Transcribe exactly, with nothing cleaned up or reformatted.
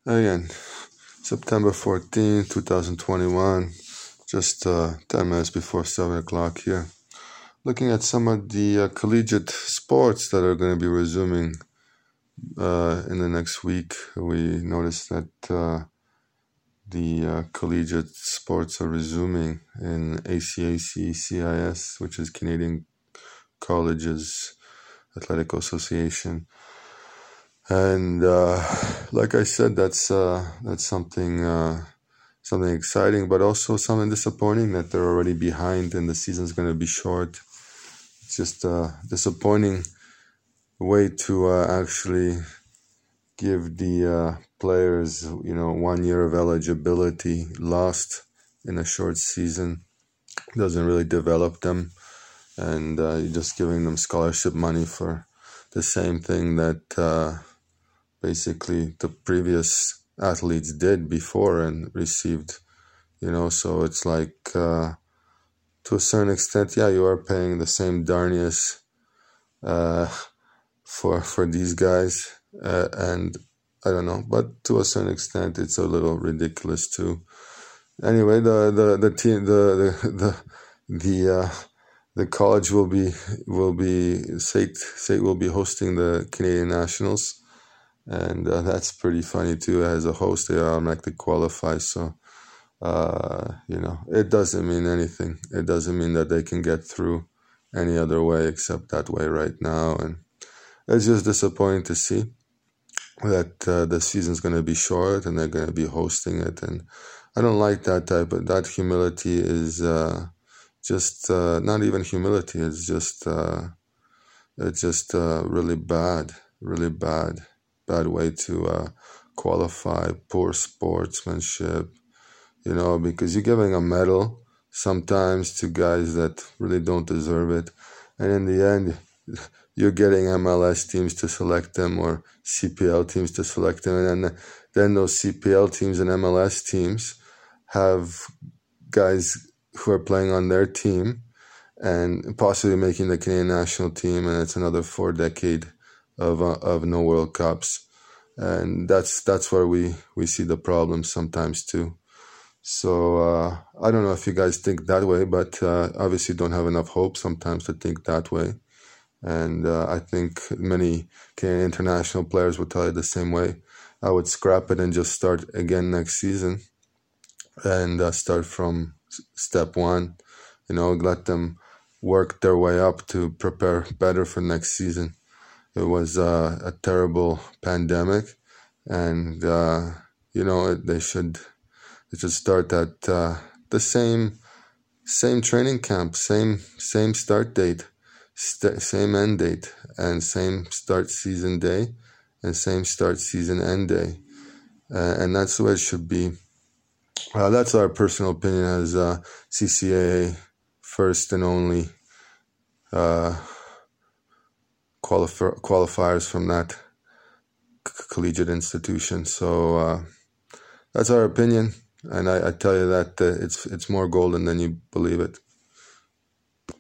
Again, September fourteenth, twenty twenty-one, just uh, ten minutes before seven o'clock here. Looking at some of the uh, collegiate sports that are going to be resuming uh, in the next week. We noticed that uh, the uh, collegiate sports are resuming in A C A C C I S, which is Canadian Colleges Athletic Association. And uh, like I said, that's uh, that's something uh, something exciting, but also something disappointing that they're already behind and the season's going to be short. It's just a disappointing way to uh, actually give the uh, players, you know, one year of eligibility lost in a short season. Doesn't really develop them, and uh, you're just giving them scholarship money for the same thing that uh, basically the previous athletes did before and received, you know. So it's like uh, to a certain extent, yeah, you are paying the same darnies uh, for for these guys, uh, and I don't know, but to a certain extent, it's a little ridiculous too. Anyway, the the the team, the the the the, uh, the college will be will be S A I T S A I T will be hosting the Canadian Nationals, and uh, that's pretty funny too. As a host, they automatically qualify, so uh, you know, it doesn't mean anything. It doesn't mean that they can get through any other way except that way right now, and it's just disappointing to see that uh, the season's going to be short and they're going to be hosting it. And I don't like that type of, that humility is uh, just uh, not even humility. It's just, uh, it's just uh, really bad, really bad, bad way to uh, qualify, poor sportsmanship, you know, because you're giving a medal sometimes to guys that really don't deserve it. And in the end, you're getting M L S teams to select them or C P L teams to select them. And then, then those C P L teams and M L S teams have guys who are playing on their team and possibly making the Canadian national team. And it's another four decade of uh, of no World Cups. And that's that's where we, we see the problem sometimes too. So uh, I don't know if you guys think that way, but uh, obviously don't have enough hope sometimes to think that way. And uh, I think many Canadian international players would tell you the same way. I would scrap it and just start again next season and uh, start from step one, you know, let them work their way up to prepare better for next season. It was uh, a terrible pandemic, and, uh, you know, they should, they should start at uh, the same same training camp, same same start date. St- same end date and same start season day and same start season end day. Uh, and that's the way it should be. Uh, that's our personal opinion as uh, C C A A first and only uh, qualif- qualifiers from that c- collegiate institution. So uh, that's our opinion. And I, I tell you that uh, it's it's more golden than you believe it.